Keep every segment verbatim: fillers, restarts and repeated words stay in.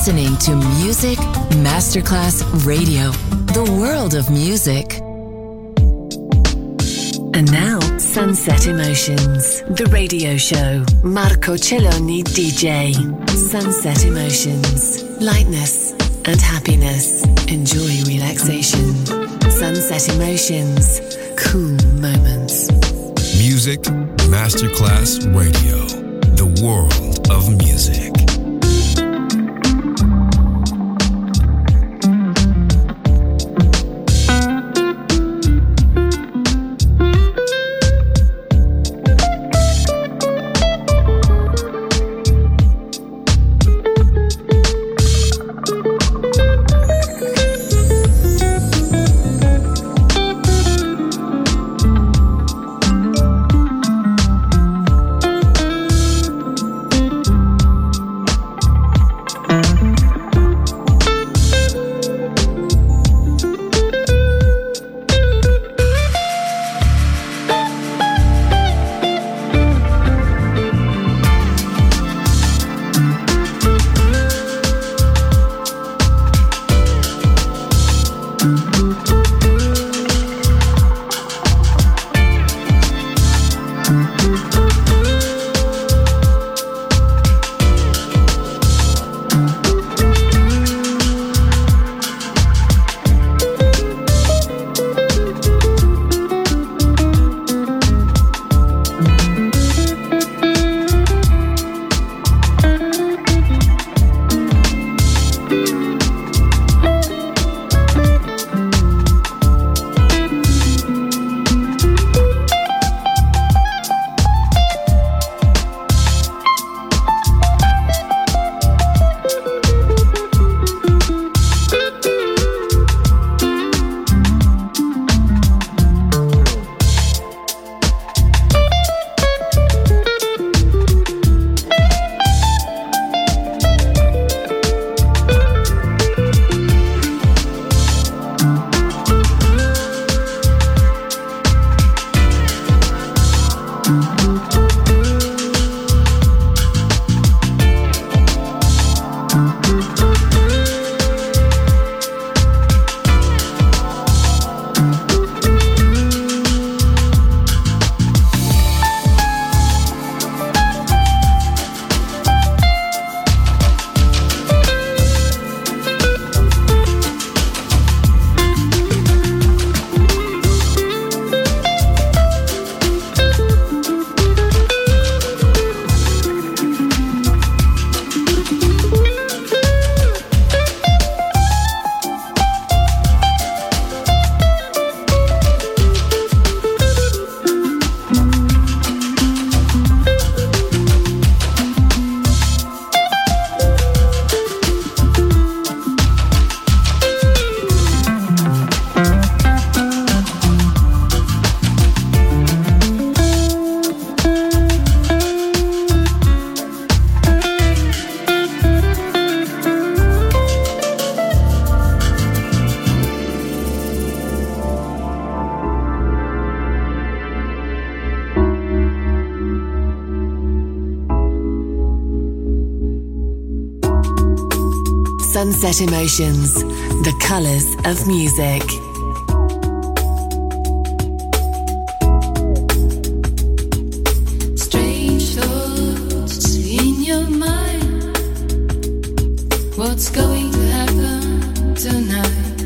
listening to Music Masterclass Radio, the world of music. And now, Sunset Emotions, the radio show. Marco Celloni D J. Sunset Emotions, lightness and happiness. Enjoy relaxation. Sunset Emotions, cool moments. Music Masterclass Radio, the world of music. Sunset Emotions, the colors of music. Strange thoughts in your mind. What's going to happen tonight?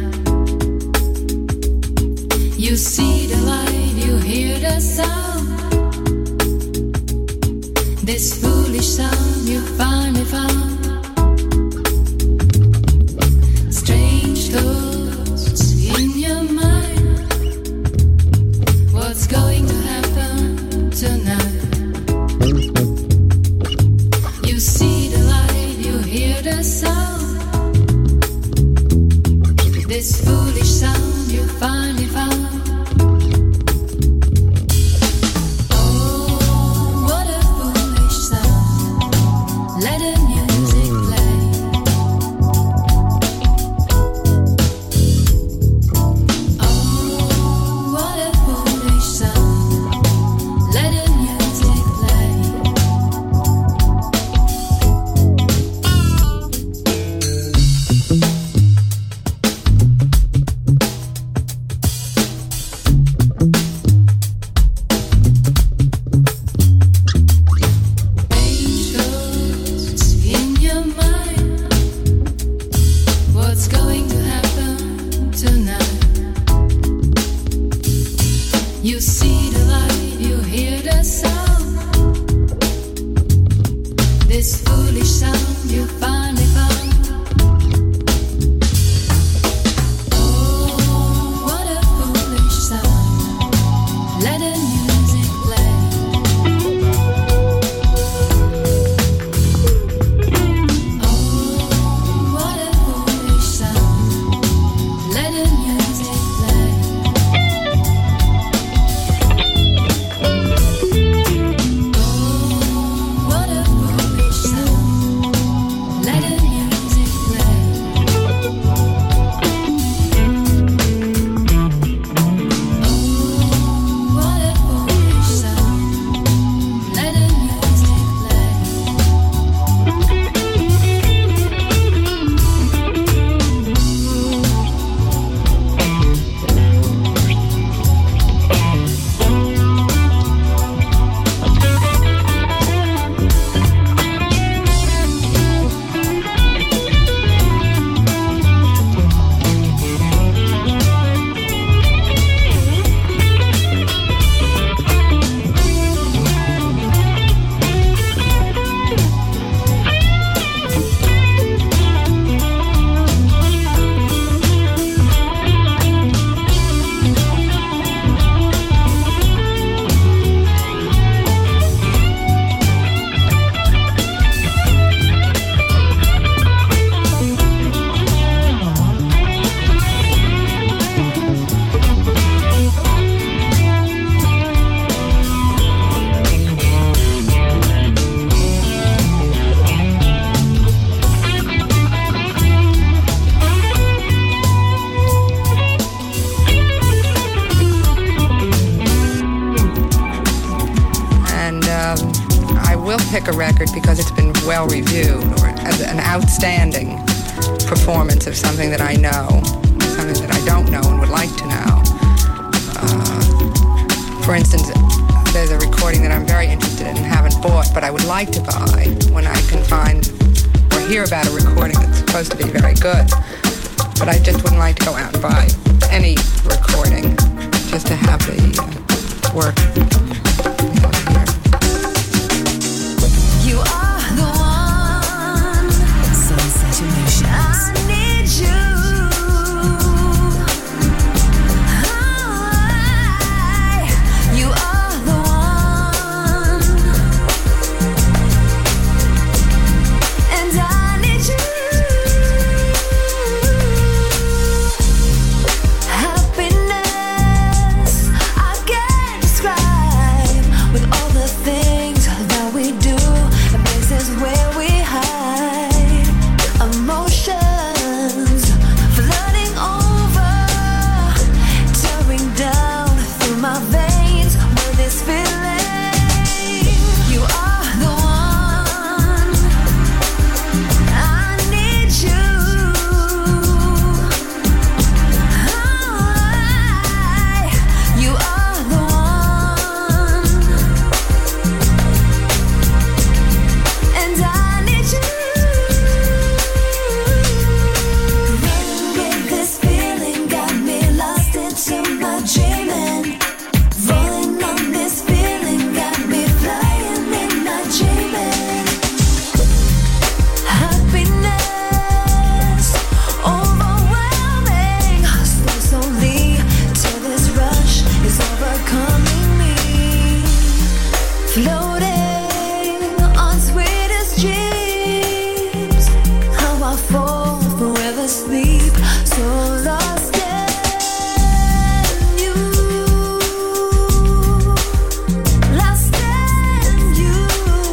You see the light, you hear the sound. This foolish sound you finally found. Thoughts in your mind. What's going to happen tonight? You see the light, you hear the sound. This foolish sound you finally found. Oh, what a foolish sound. pick a record because it's been well reviewed, or as an outstanding performance of something that I know, something that I don't know and would like to know. Uh, for instance, there's a recording that I'm very interested in and haven't bought, but I would like to buy when I can find or hear about a recording that's supposed to be very good. But I just wouldn't like to go out and buy any recording just to have the uh, work. You are the one. Sunset Emotions. I need you. I, you are the one. And I need you. Happiness I can't describe with all the things that we do. This is where we hide emotions flooding over, tearing down through my veins with this feeling. You are the one. I need you. I, you are the one. And I need you. Running with this feeling got me lost into my dreaming. Rolling on this feeling got me flying in my dreaming. Happiness overwhelming, slow slowly till this rush is overcoming me. Floating on sweetest dreams, how I fall forever sleep, so lost in you, lost in you.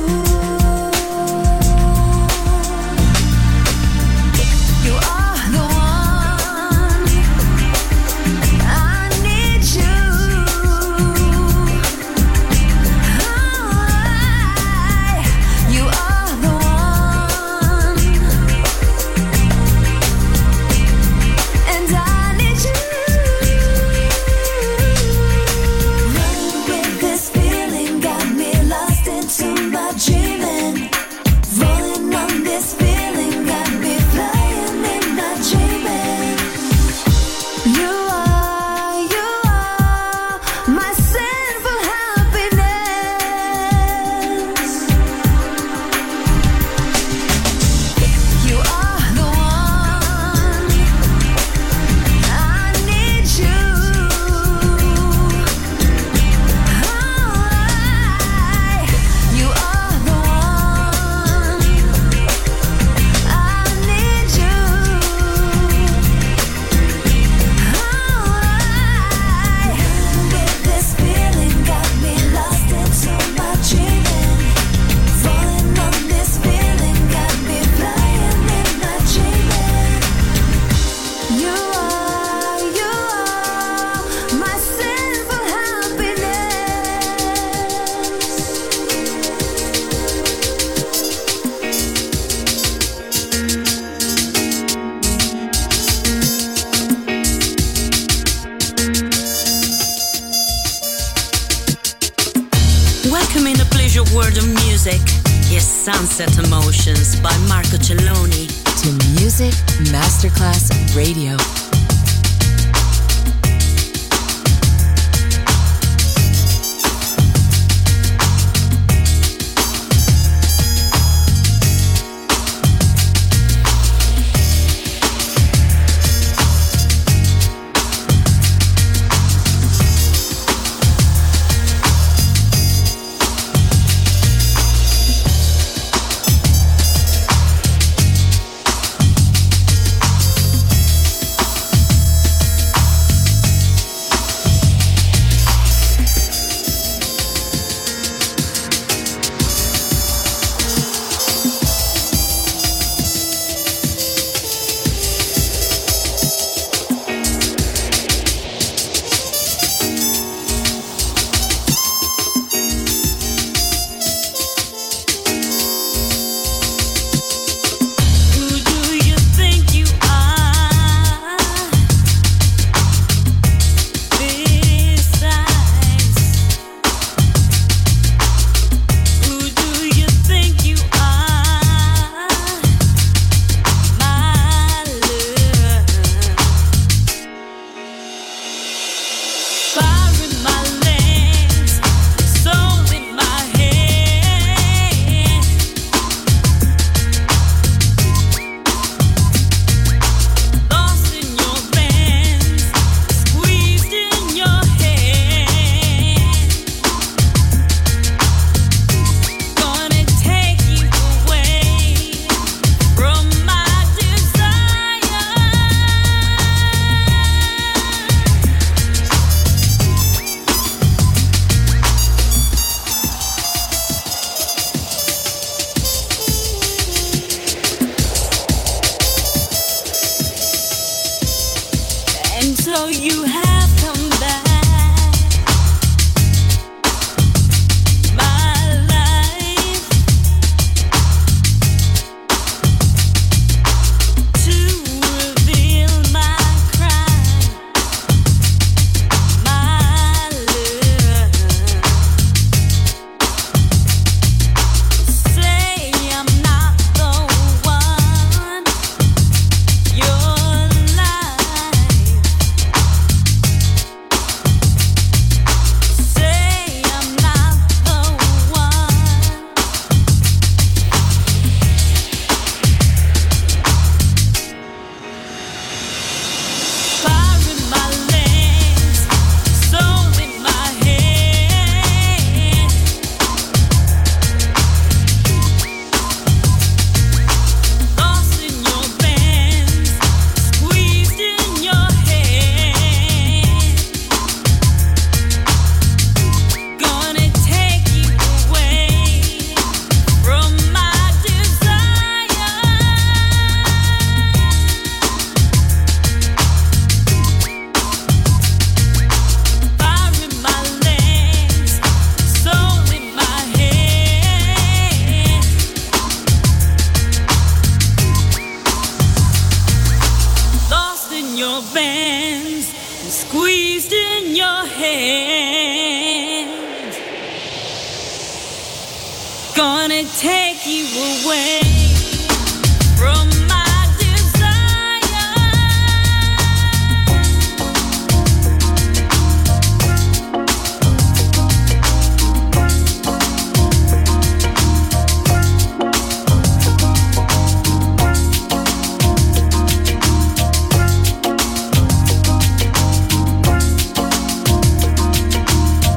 You are the one. I need you. I, you are the one. And I need you. Running with this feeling got me lost into my dreaming. Rolling on this feeling got me flying in my dreaming. You are, you are my sinful happiness. music is Sunset Emotions by Marco Celloni. To Music Masterclass Radio.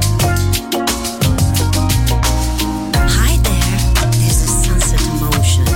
Hi there, this is Sunset Emotions.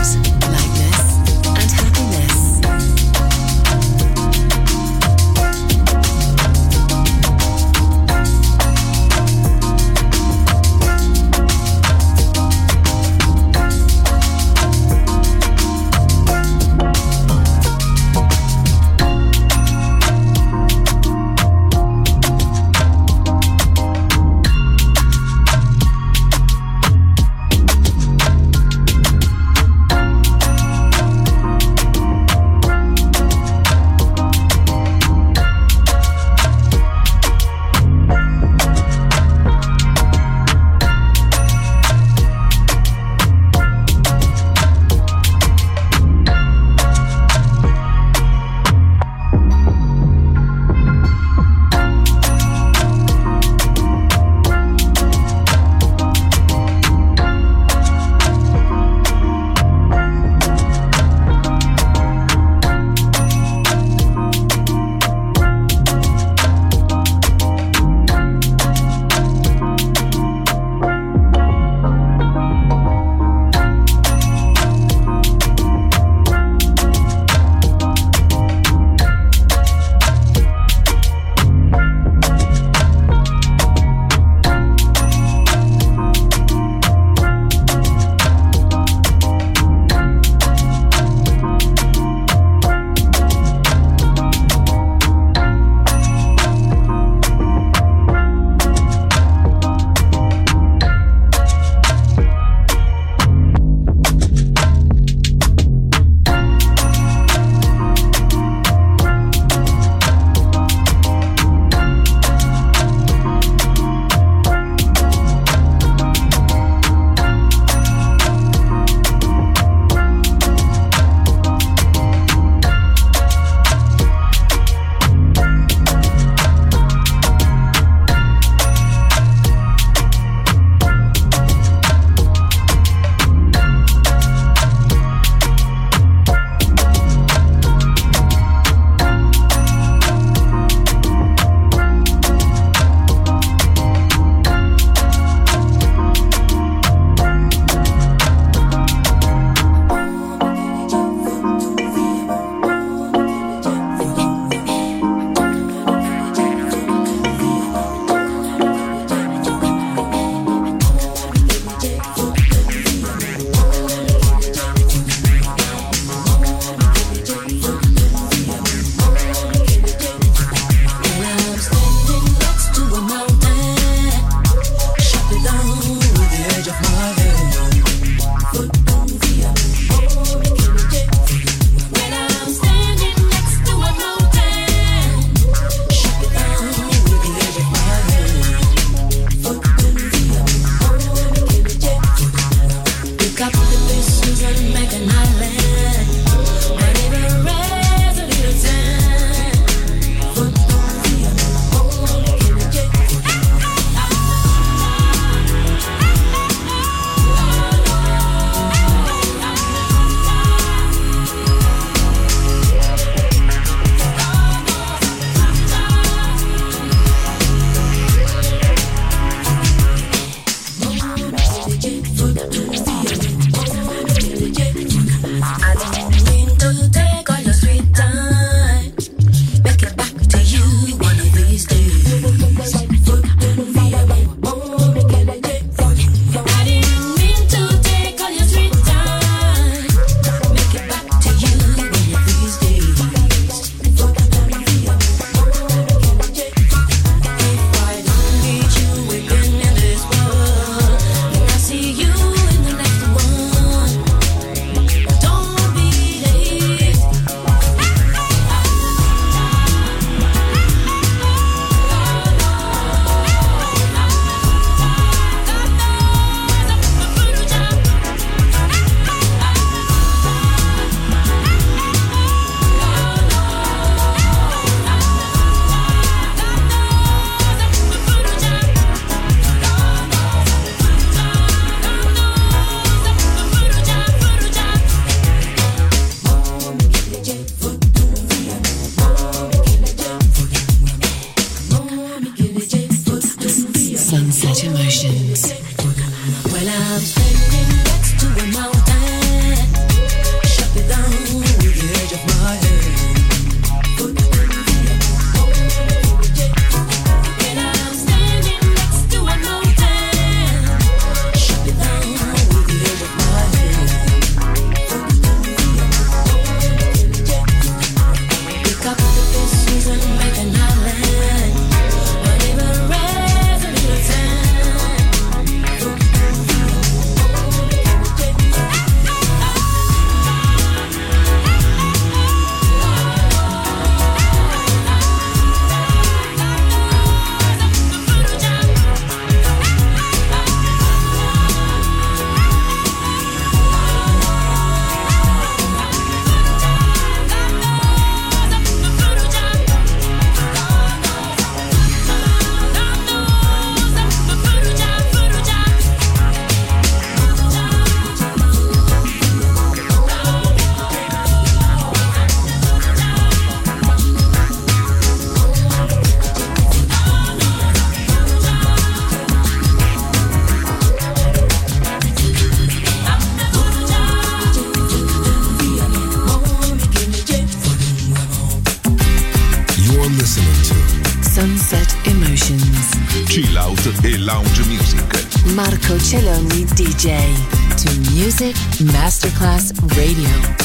dance e lounge music. Marco Celloni D J to Music Masterclass Radio.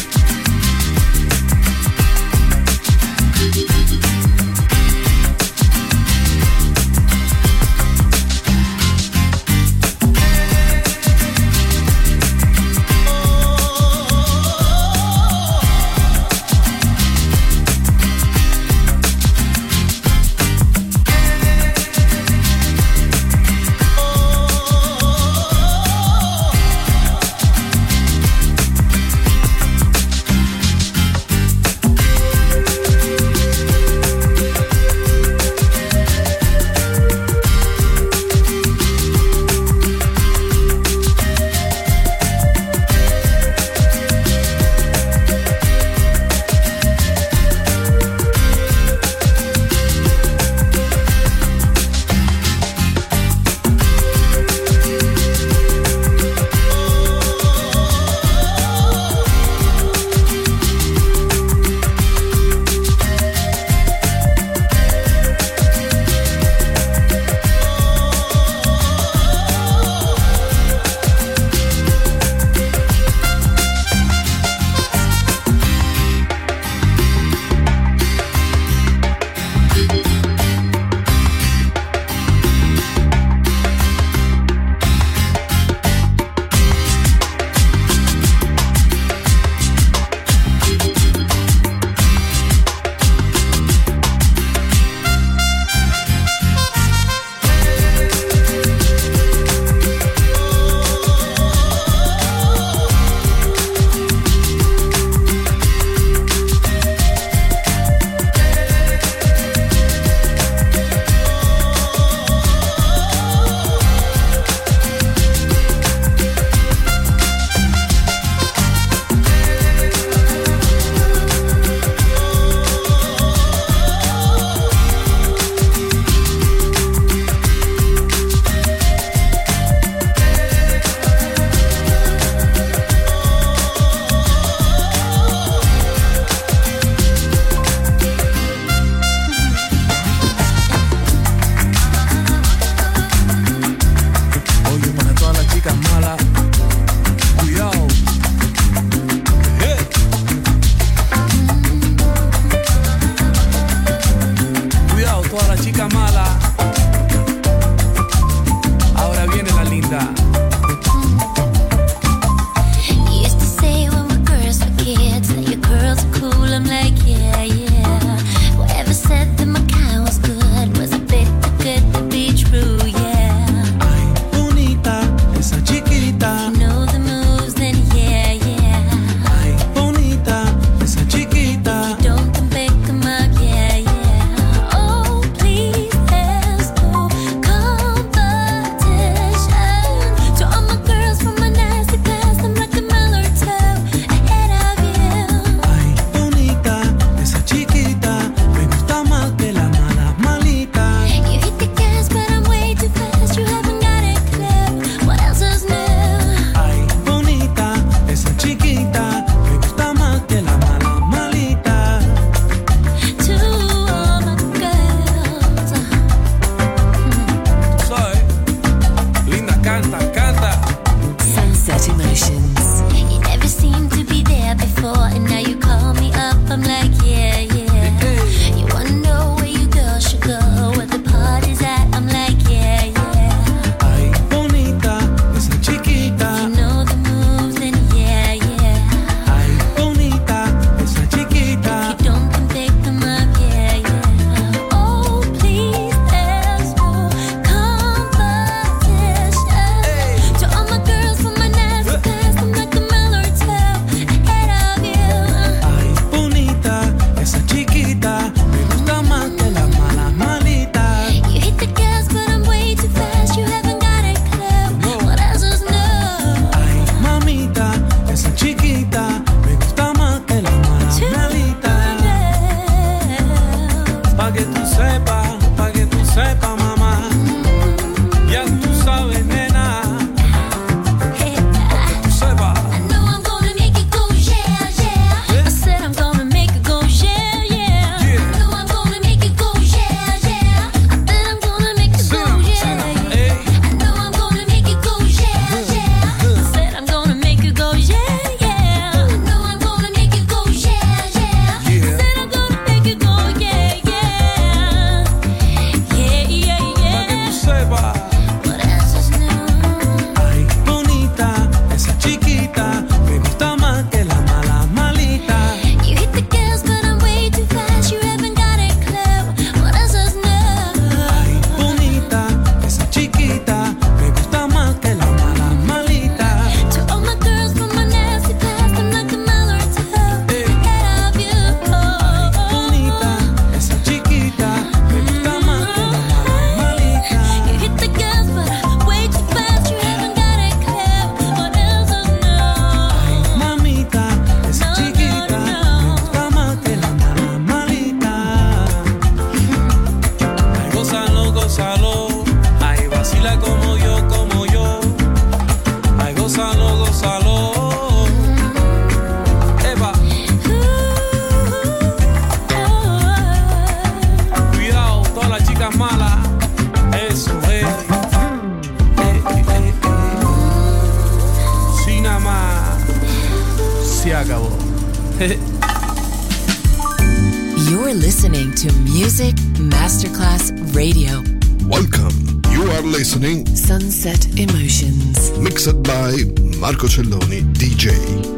You're listening to Music Masterclass Radio. Welcome. You are listening Sunset Emotions. Mixed by Marco Celloni D J.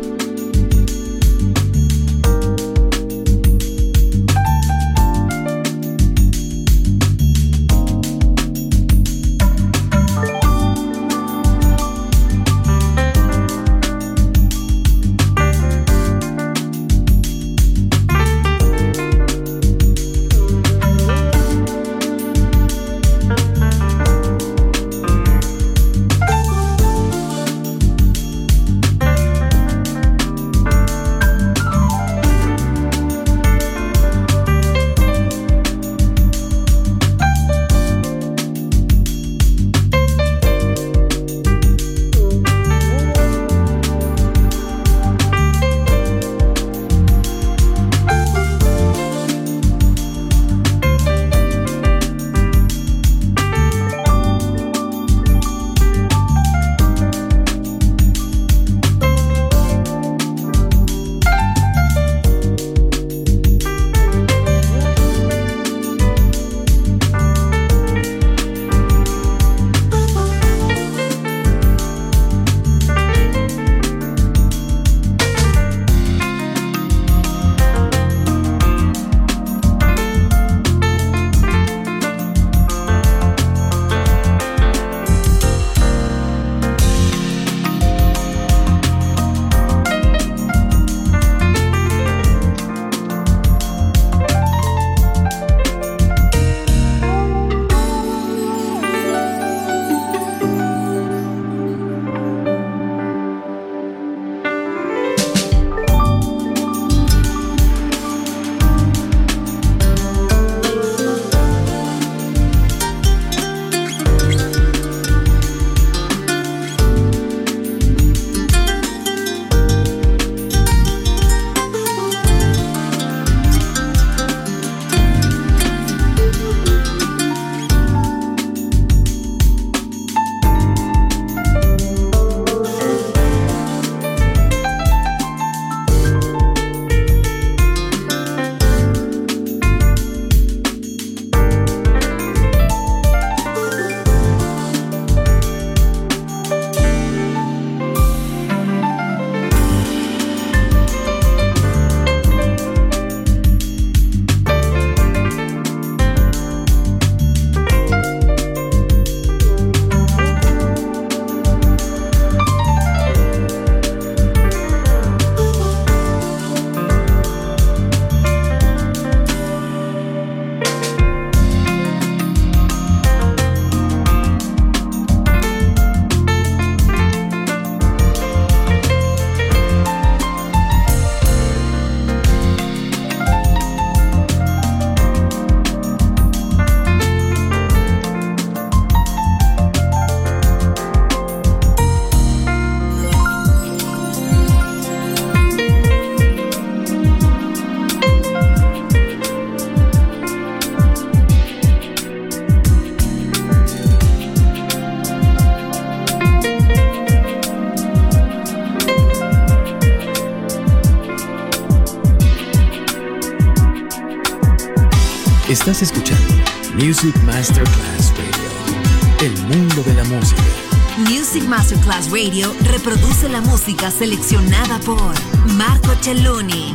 Estás escuchando Music Masterclass Radio, el mundo de la música. Music Masterclass Radio reproduce la música seleccionada por Marco Celloni.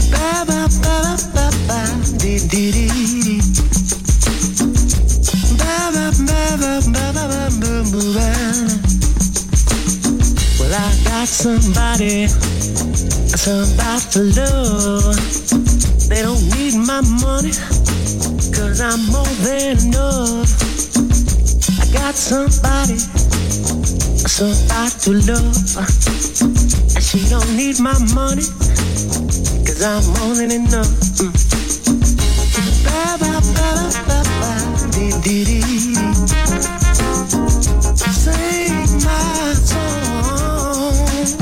Ba ba ba ba ba dee dee dee. Ba ba ba ba ba ba ba ba. Well, I got somebody, somebody to love. They don't need my money, 'cause I'm more than enough. I got somebody, somebody to love, and she don't need my money, 'cause I'm more than enough. Mm. Ba ba ba ba ba dee dee dee. Sing my song.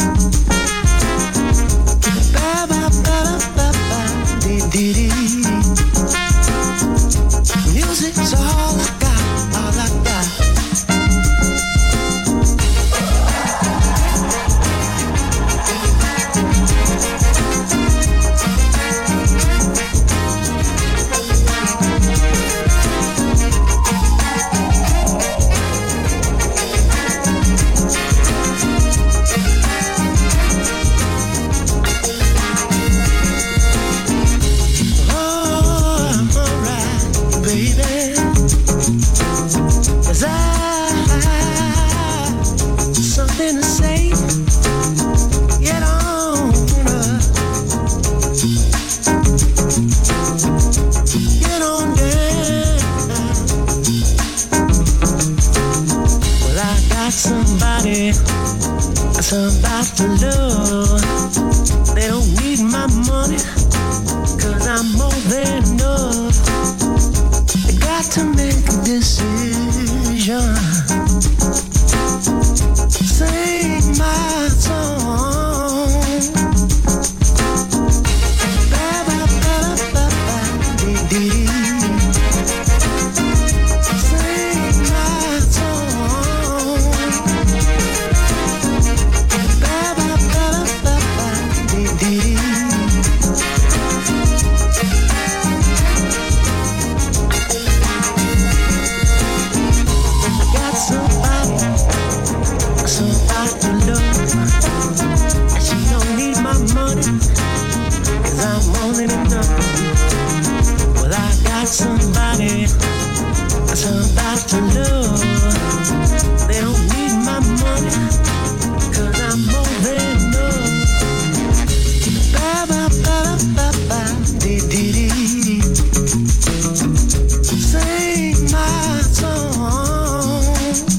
Ba ba ba ba ba dee dee dee. Music's all I got, all I got. Somebody to love. They don't need my money, 'cause I'm more than enough. They got to make a decision. Sing my song. Ba ba ba ba ba dee dee. Sing my song. Somebody, somebody to love. They don't need my money, 'cause I'm more than enough. Ba ba ba ba ba dee dee dee. Sing my song.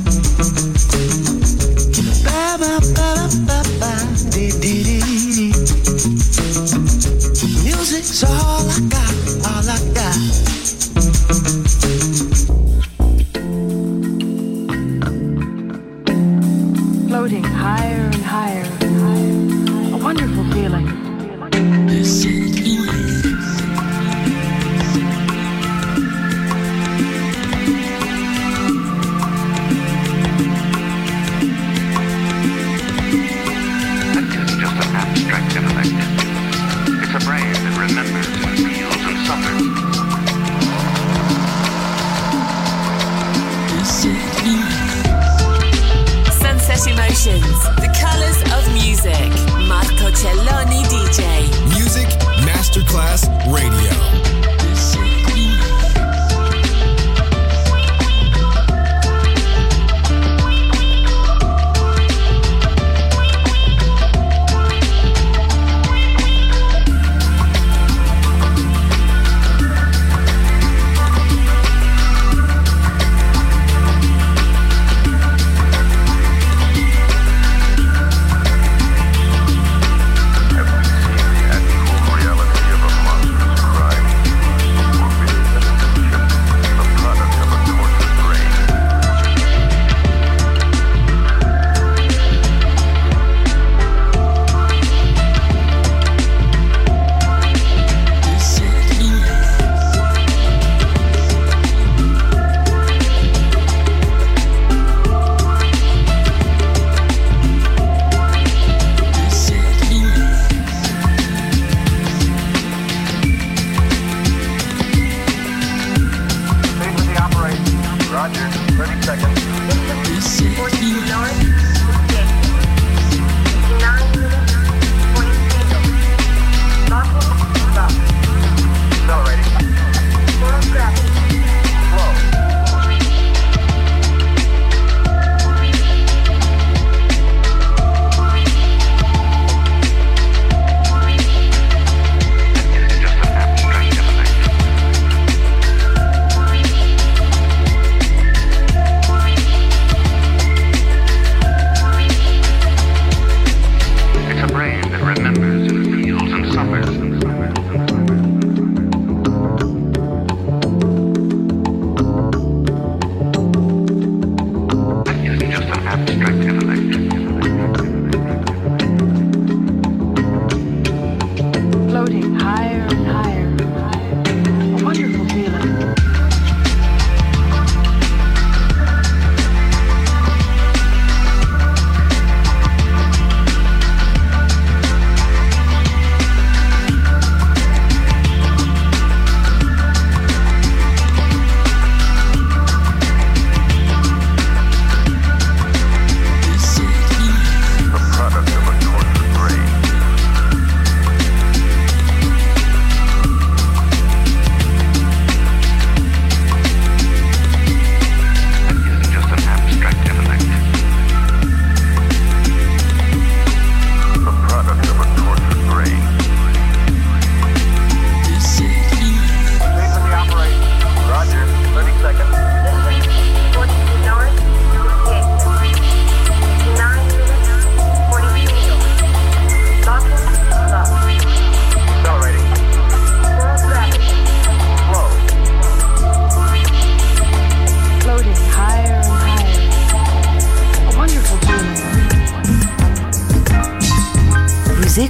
Ba ba ba ba ba dee dee dee. Music's all I got, all I got.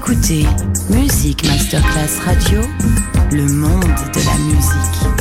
écoutez Music Masterclass Radio, le monde de la musique.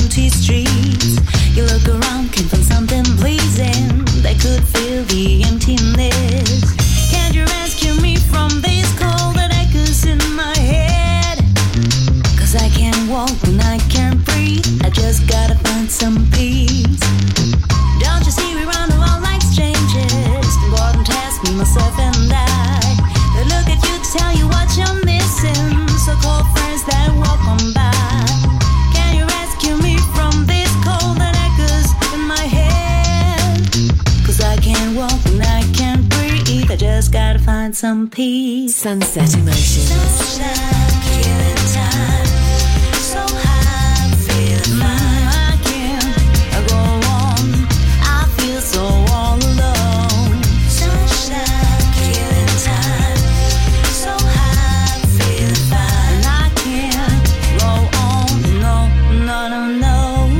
empty streets. You look around, can find something pleasing that could fill the emptiness. Can't you rescue me from this cold that echoes in my head? Cause I can't walk and I can't breathe. I just gotta find some peace. Don't you see we run around like strangers? Important task, me, myself and I. They look at you to tell you what you're missing. So-called friends that walk on by. Can you rescue me from this cold that echoes in my head? Cause I can't walk and I can't breathe. I just gotta find some peace. Sunset Emotions. Sunshine, killing time. So high, I'm feeling fine. I can't go on. I feel so all alone. Sunshine, killing time. So high, I'm feeling fine. I can't go on. No, no, no, no.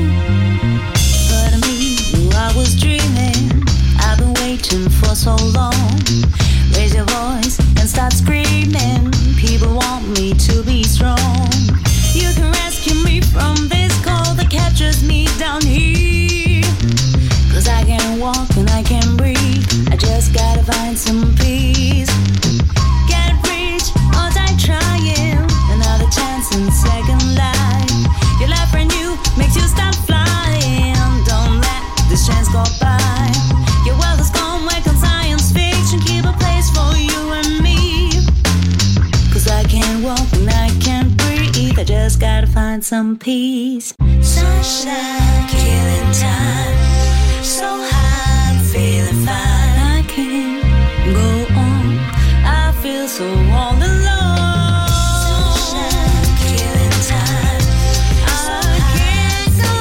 But me, knew I was dreaming. I've been waiting for so long. Raise your voice and start screaming. People want me to be strong. You can rescue me from this cold that captures me down here. Cause I can't walk and I can't breathe. I just gotta find some peace. Can't reach, all time trying. Another chance and second life. Your life brand new makes you start flying. Don't let this chance go by. Your world is gone, wake on science fiction. Keep a place for you and me. Cause I can't walk and I can't breathe. I just gotta find some peace. Sunshine, killing time. So high, I'm feeling fine. I can't go on. I feel so all alone. Sunshine, killing time. I can't go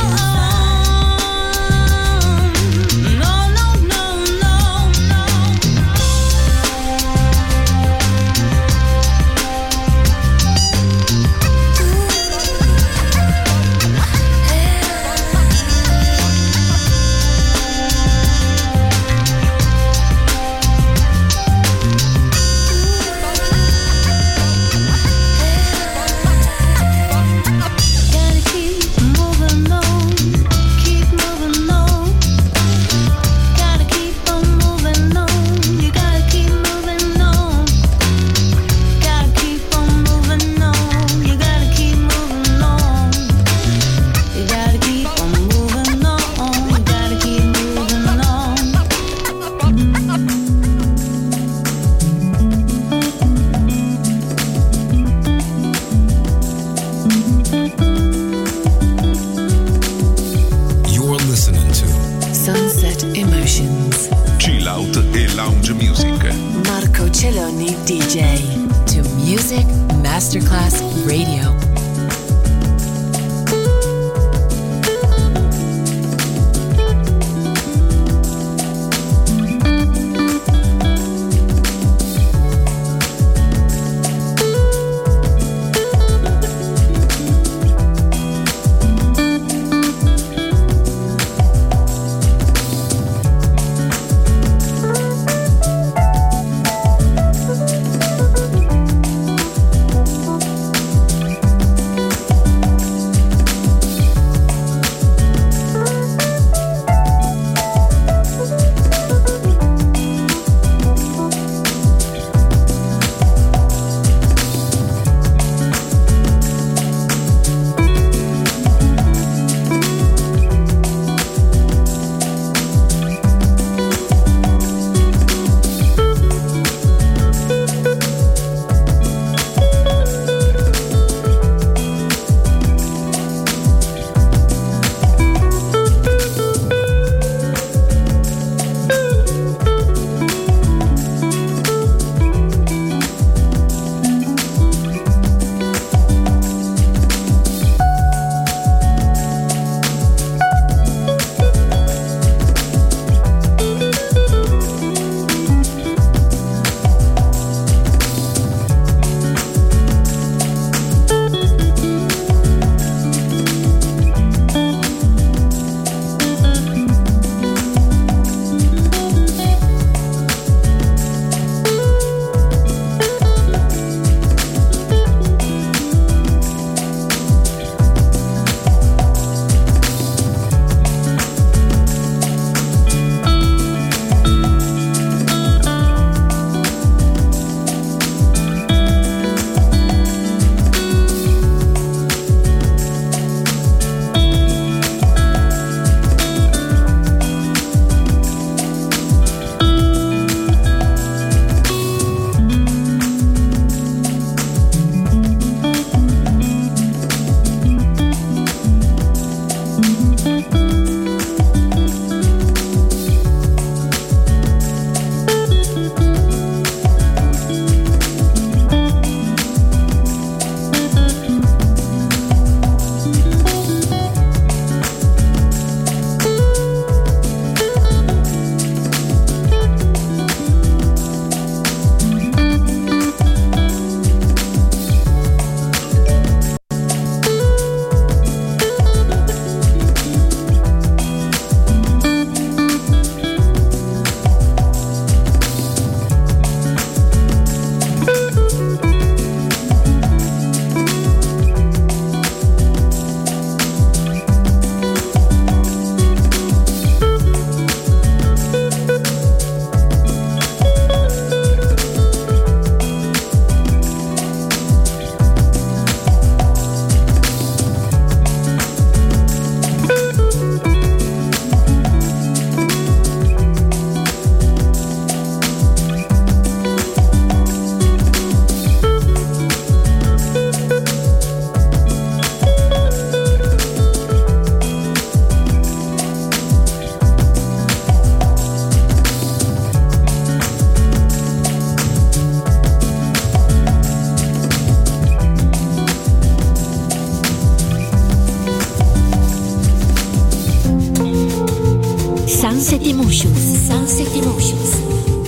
on. No, no, no, no, gotta keep moving on, keep moving on. Gotta keep on moving on. You gotta keep moving on. Gotta keep on moving on. You gotta keep moving on. You gotta keep on moving on. You gotta keep moving on. You're listening to Sunset Emotions. Chill Out e Lounge Music. Marco Celloni D J. To Music Masterclass Radio. Sunset Emotions, Sunset Emotions.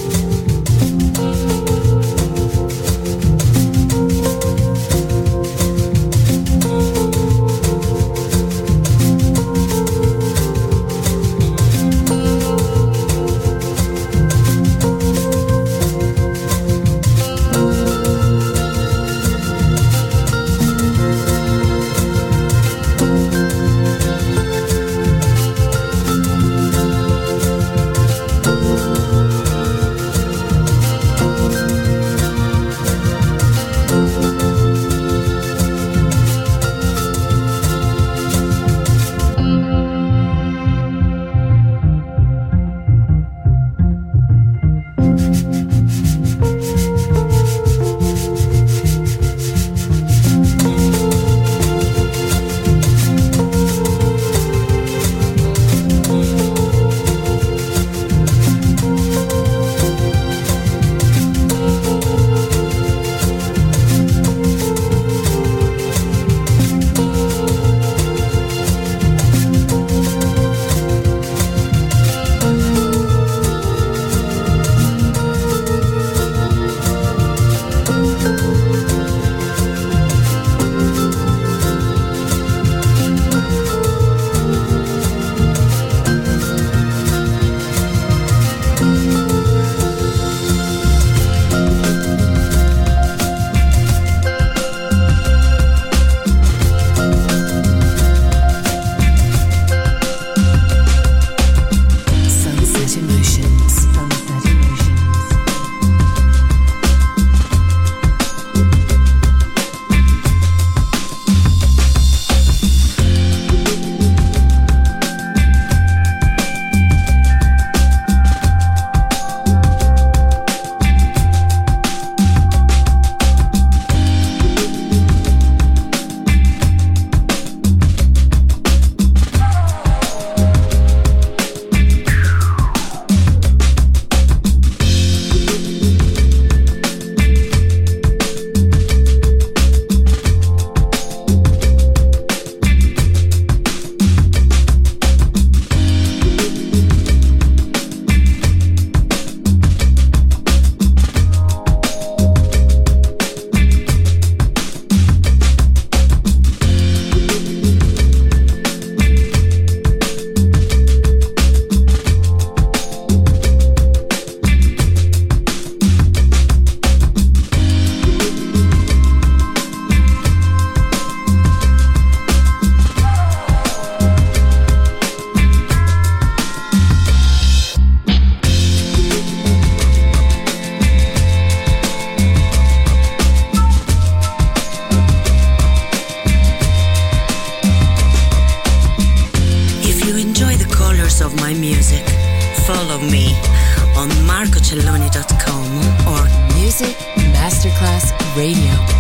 Of my music, follow me on marco celloni dot com or Music Masterclass Radio.